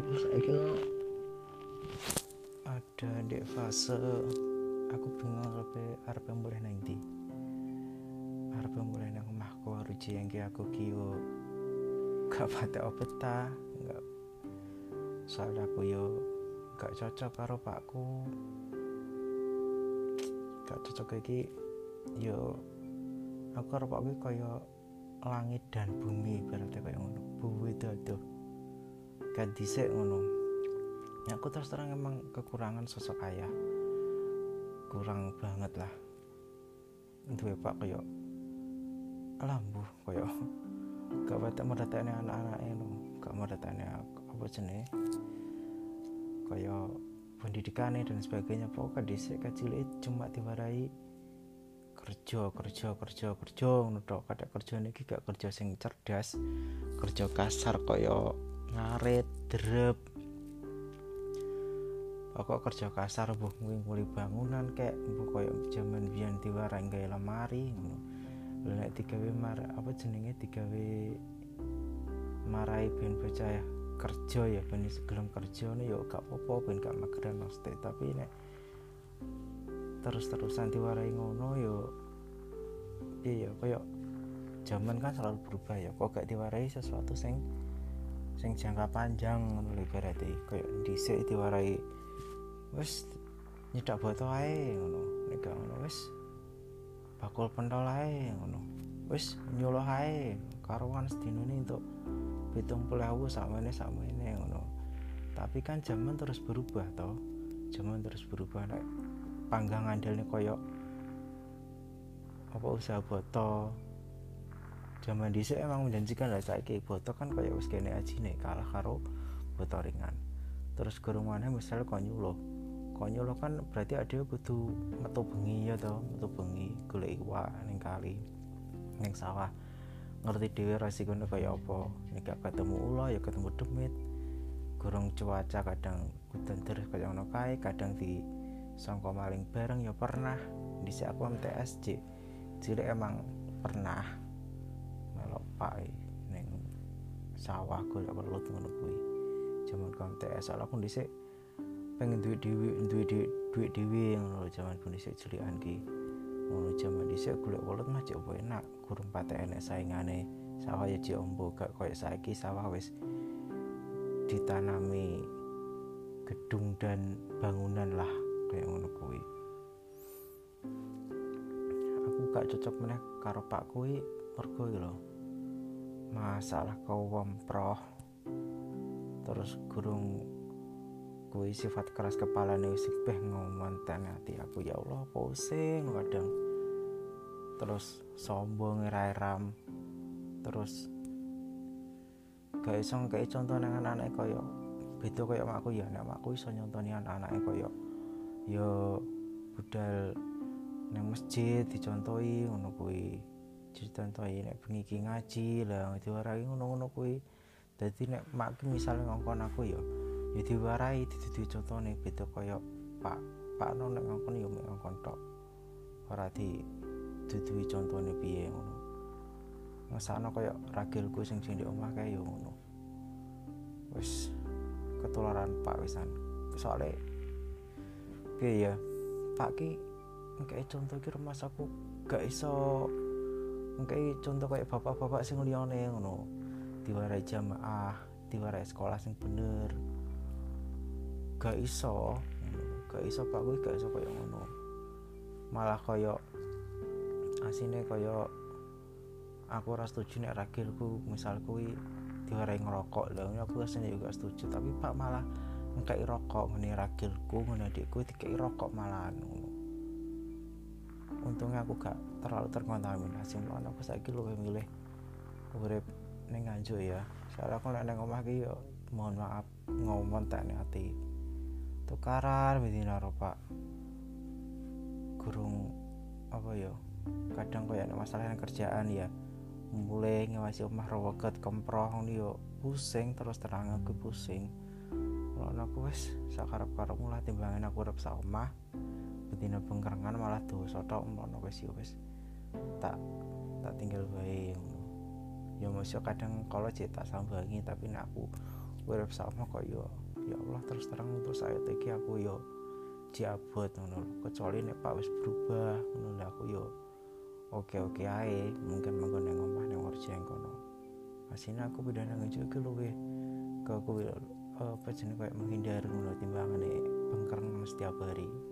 Saiki ada di fase aku bingung arep mulai nang ndi. Arep mulai nang omahku ruji yang aku kiyo gak patek betah, enggak. Soalnya aku yo gak cocok karo pakku. Gak cocok iki yo aku karo pakku kaya langit dan bumi, berarti kaya ngono. Buwi dadoh. Kan dhisik ngono. Ya aku terus terang emang kekurangan sosok ayah. Kurang banget lah. Duwe pak kaya lambuh kaya gak patek mereteni anak-anake ngono. Gak mereteni apa jenenge? Kaya pendidikane dan sebagainya. Pokoknya dhisik kecil cuma diwarai kerja ngono tok. Kadang kerjane iki gak kerja sing cerdas, kerja kasar kaya ngarit, drep. Pokok kerja kasar mbuh nguli bangunan kayak mbuh kaya jaman biyen diwarai gawe lemari ngono. Lha nek digawe digawe marai ben bocah ya kerja ya ben gelem kerjane ya gak apa-apa ben gak mageran mesti, tapi nek terus-terusan diwarai ngono yo iya kaya zaman kan selalu berubah ya, kok gak diwarai sesuatu sing jangka panjang ngono lho. Berarti kaya dhisik diwarai wis nyedak boto ae ngono, nek gak ngono wis bakul pentol ae ngono, wis nyuluh ae karuan sedinane entuk 70.000 sakmene ngono. Tapi kan zaman terus berubah toh, zaman terus berubah. Nek panggang andalne koyo apa usaha boto zaman dhisik emang menjanjikan lah. Saiki boto kan koyo wis kene ajine kalah karo boto ringan. Terus gurungane misal konyulo kan berarti ada kudu metu bengi ya toh, metu bengi golek iwak ning kali ning sawah. Ngerti dhewe resikone kaya apa, nek gak ketemu ula ya ketemu demit. Gurung cuaca kadang udan terus kaya ngono kae, kadang di sangka maling bareng ya pernah. Dhisik aku MTSJ cilik emang pernah melok pak ning sawah golek welut ngono kuwi. Jaman MTS aku dhisik pengen duit dhewe ngono jaman dhisik cilikan ki. Ngono jaman dhisik golek welut mah cek enak, kurang patek enek saingane. Sawah ya cek ombo gak koyo saiki sawah wis ditanami gedung dan bangunan lah kayak ngono kuwi. Aku gak cocok meneh karo pak kuwi mergo lho masalah kewemproh, terus gurung kuwi sifat keras kepalane wis beh ngomonten ati aku. Ya Allah pusing kadang. Terus sombong ram, terus gak iso ngekei contoh nang anak-anake kaya beda kaya makku ya. Nek makku iso nyontoni anak-anake kaya ya budal nang masjid dicontohi ngono kuwi, dicontohi nek bengi iki ngaji lah diwarai ngono-ngono kuwi. Dadi nek makku misale ngongkon aku ya diwarai diduduhi contone. Beda kaya pak no nek ngongkon ya mek ngongkon tok, ora diduduhi contone piye ngono. Ngesakno kaya ragilku sing di omah kae ya ngono. Wis ketularan pak wisan. Soale piye ya, pak ki ngekei contoh ki remas aku gak iso ngekei contoh kaya bapak-bapak sing liyane ngono. Diwarai jamaah, diwarai sekolah sing bener. Gak iso pak kuwi gak iso kaya ngono. Malah kaya asine kaya aku ora setuju nek ragilku misal kuwi diwarai ngerokok. Lah aku asine juga setuju, tapi pak malah ngekei rokok ngene ragilku, ngene adikku dikei rokok malahan ngono. Untungnya aku gak terlalu terkontaminasi. Mulane aku saiki luwih milih urip ning Nganjuk ya. Soalnya aku nek nang omah ki yo mohon maaf ngomong tak ati. Tukaran bedina karo Pak. Gurung apa ya? Kadang koyo nek masalah kerjaan ya. Mulai ngawasi omah reweket kemproh ngono yo pusing terus terang aku pusing. Mulane aku wis sakarep-karepmu lah timbangan aku urip sak omah. Betina bengkerengan malah dosa tok ngono wis yo wis. Tak tinggal bae ngono. Ya mesti kadang kalau tak sambangi, tapi nek aku urip sama kok yo ya Allah terus terang terus saat iki aku yo diabot ngono kecuali nek Pak wis berubah ngono aku yo oke ae mungkin manggon nang omah nang Orjeng kono asine aku pindah nang Jogja luwe ke aku apa jenenge kayak menghindar ngono timbangane bengkern setiap hari